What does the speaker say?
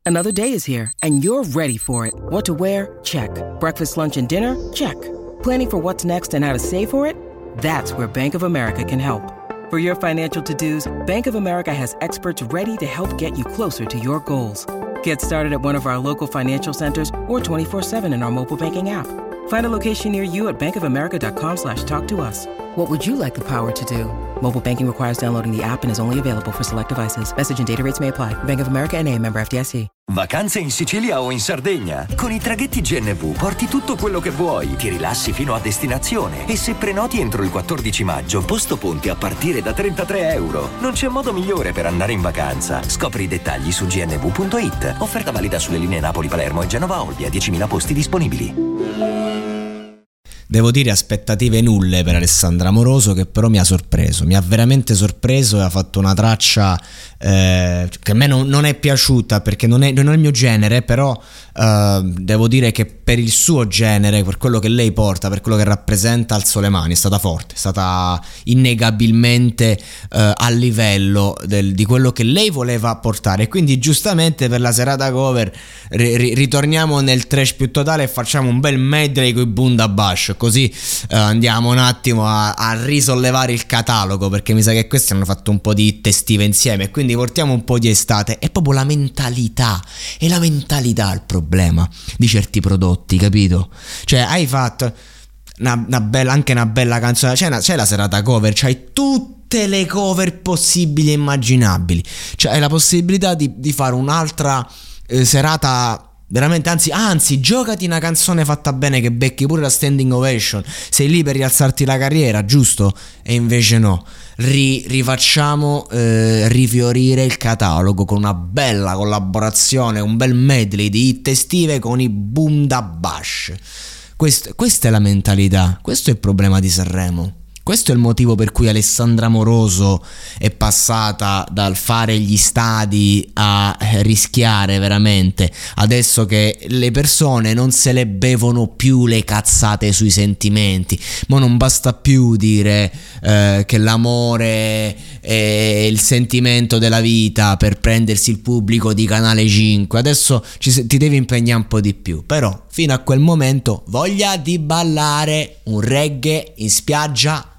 Another day is here, and you're ready for it. What to wear? Check. Breakfast, lunch, and dinner? Check. Planning for what's next and how to save for it? That's where Bank of America can help. For your financial to-dos, Bank of America has experts ready to help get you closer to your goals. Get started at one of our local financial centers or 24/7 in our mobile banking app. Find a location near you at bankofamerica.com/talktous. What would you like the power to do? Mobile banking requires downloading the app and is only available for select devices. Message and data rates may apply. Bank of America N.A., member FDIC. Vacanze in Sicilia o in Sardegna. Con i traghetti GNV porti tutto quello che vuoi, ti rilassi fino a destinazione e se prenoti entro il 14 maggio, posto ponti a partire da €33. Non c'è modo migliore per andare in vacanza. Scopri i dettagli su gnv.it. Offerta valida sulle linee Napoli-Palermo e Genova-Olbia, 10.000 posti disponibili. Devo dire aspettative nulle per Alessandra Amoroso, che però mi ha sorpreso, mi ha veramente sorpreso e ha fatto una traccia che a me non è piaciuta perché non è il mio genere, però devo dire che per il suo genere, per quello che lei porta, per quello che rappresenta, alzo le mani, è stata forte, è stata innegabilmente a livello di quello che lei voleva portare, e quindi giustamente per la serata cover ritorniamo nel trash più totale e facciamo un bel medley con i Bundabash, così andiamo un attimo a risollevare il catalogo, perché mi sa che questi hanno fatto un po' di hit estive insieme, quindi portiamo un po' di estate. È proprio la mentalità, è la mentalità il problema di certi prodotti, capito? Cioè hai fatto una bella canzone, c'è la serata cover, c'hai tutte le cover possibili e immaginabili, cioè hai la possibilità di fare un'altra serata. Veramente, anzi, giocati una canzone fatta bene che becchi pure la standing ovation, sei lì per rialzarti la carriera, giusto? E invece no, rifacciamo rifiorire il catalogo con una bella collaborazione, un bel medley di hit estive con i Bundabash. Questa è la mentalità, questo è il problema di Sanremo. Questo è il motivo per cui Alessandra Amoroso è passata dal fare gli stadi a rischiare veramente. Adesso che le persone non se le bevono più le cazzate sui sentimenti, ma non basta più dire che l'amore è il sentimento della vita per prendersi il pubblico di Canale 5. Adesso ti devi impegnare un po' di più, però fino a quel momento voglia di ballare un reggae in spiaggia